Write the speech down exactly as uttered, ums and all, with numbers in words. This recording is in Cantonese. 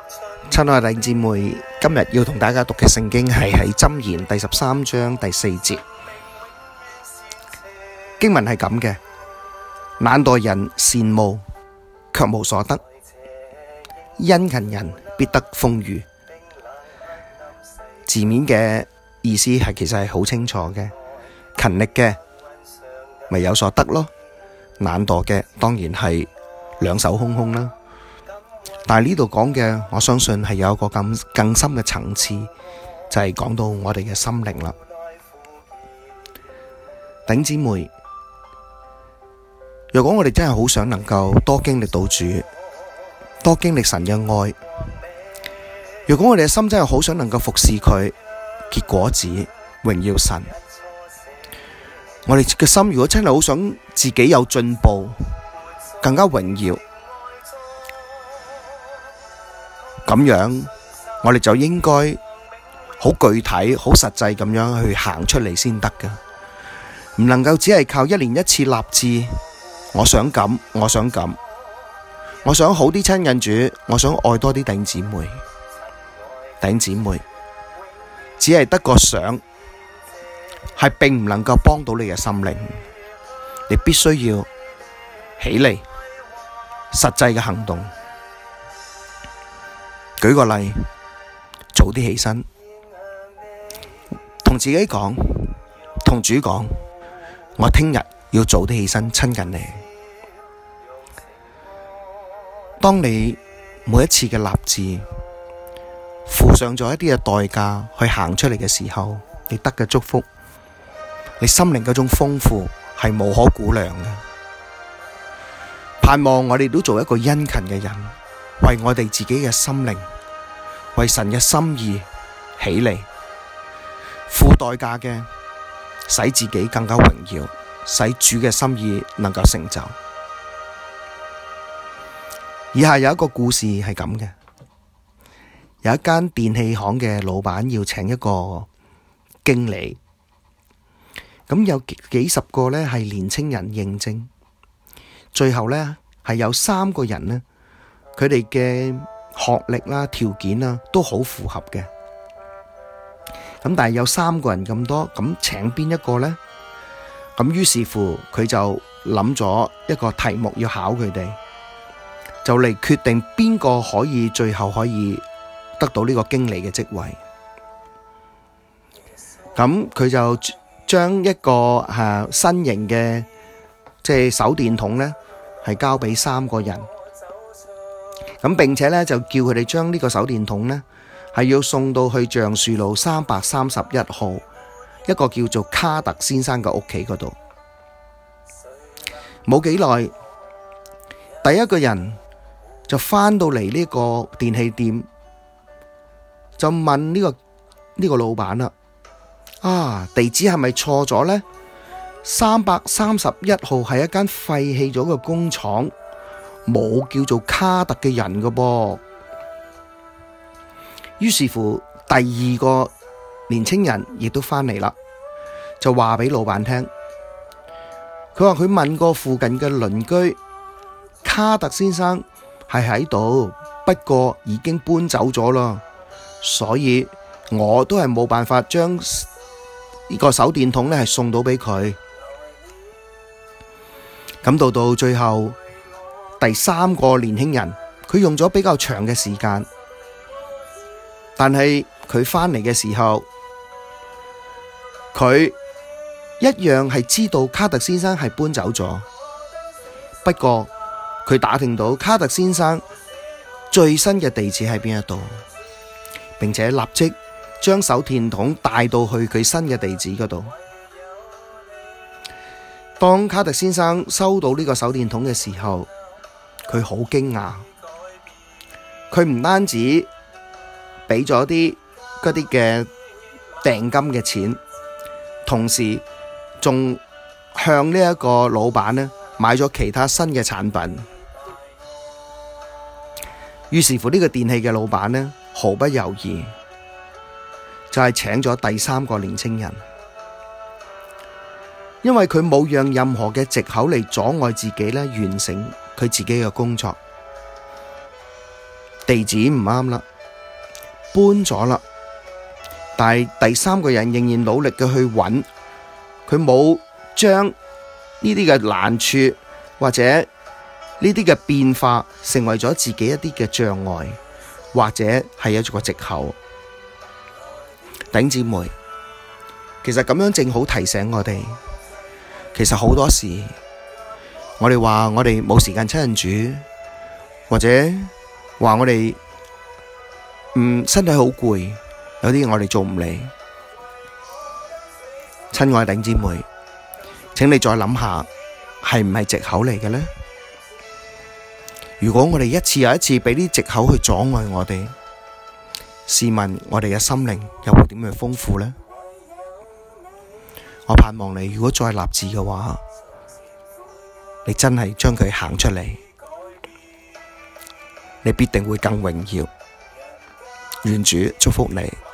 親愛的弟兄姊妹，今日要同大家讀嘅聖經係喺箴言第十三章第四節，經文係咁嘅：懶惰人羨慕，卻無所得；殷勤人必得豐裕。字面嘅意思係其實係好清楚嘅，勤力嘅咪有所得咯，懶惰嘅當然係兩手空空啦。但係呢度講嘅，我相信係有一個更更深嘅層次，就係講到我哋嘅心靈啦。弟兄姊妹，如果我哋真係好想能夠多經歷到主，多經歷神嘅愛，如果我哋嘅心真係好想能夠服侍佢，結果子榮耀神，我哋嘅心如果真係好想自己有進步，更加榮耀，咁樣我哋就應該好具體、好實際咁樣去行出嚟先得㗎，唔能夠只係靠一年一次立志，我想咁，我想咁，我想好啲親近主，我想愛多啲弟兄姊妹。弟兄姊妹，只係得個想，係並唔能夠幫到你嘅心靈。你必須要起嚟，實際嘅行動。舉個例，早啲起身，同自己講，同主講，我聽日要早啲起身親近你。當你每一次嘅立志付上咗一啲嘅代價去行出嚟嘅時候，你得嘅祝福，你心靈嗰種豐富係無可估量嘅。盼望我哋都做一個殷勤嘅人，為我哋自己嘅心靈，為神嘅心意起嚟，付代價嘅，使自己更加榮耀，使主嘅心意能夠成就。以下有一個故事係咁嘅，有一間電器行嘅老闆要請一個經理，咁有幾十個呢係年青人應徵，最後呢係有三個人呢，佢哋嘅學歷啦、條件啦都好符合嘅，咁但係有三個人咁多，咁請邊一個呢？咁於是乎佢就諗咗一個題目要考佢哋，就嚟決定邊個可以最後可以得到呢個經理嘅職位。咁佢就將一個誒、啊、新型嘅即係手電筒呢，係交俾三個人。咁並且呢，就叫佢哋將呢個手電筒呢，係要送到去橡樹路三百三十一號一個叫做卡特先生嘅屋企嗰度。冇幾耐，第一個人就返到嚟呢個電器店，就問呢個呢個老闆啦：啊，地址係咪錯咗呢？三百三十一號係一間廢棄咗嘅工廠，冇叫做卡特嘅人㗎噃。於是乎，第二個年青人亦都返嚟啦，就話俾老闆聽，佢話佢問過附近嘅鄰居，卡特先生係喺度，不過已經搬走咗啦，所以我都係冇辦法將呢個手電筒咧係送到俾佢。咁到到最後，第三個年輕人，佢用咗比較長嘅時間，但係佢返嚟嘅時候，佢一樣係知道卡特先生係搬走咗。不過佢打聽到卡特先生最新嘅地址喺邊一度，並且立即將手電筒帶到去佢新嘅地址嗰度。當卡特先生收到呢個手電筒嘅時候，佢好驚訝。佢唔單止俾咗啲嗰啲嘅訂金嘅錢，同時仲向呢一個老闆呢買咗其他新嘅產品。於是乎呢個電器嘅老闆呢毫不猶豫，就係請咗第三個年青人。因為佢冇讓任何嘅藉口嚟阻礙自己咧完成佢自己嘅工作。 地址唔啱啦，搬咗啦，但係第三個人仍然努力嘅去揾，佢冇將呢啲嘅難處或者呢啲嘅變化成為咗自己一啲嘅障礙，或者係一個藉口。弟兄姊妹，其實咁樣正好提醒我哋，其實好多時我哋話我哋冇時間親近主，或者話我哋嗯身體好攰，有啲嘢我哋做唔嚟。親愛弟兄姊妹，請你再諗下，係唔係藉口嚟嘅呢？如果我哋一次又一次俾啲藉口去阻礙我哋，試問我哋嘅心靈又會點樣豐富呢？我盼望你如果再立志嘅話，你真係將佢行出嚟，你必定會更榮耀。願主祝福你。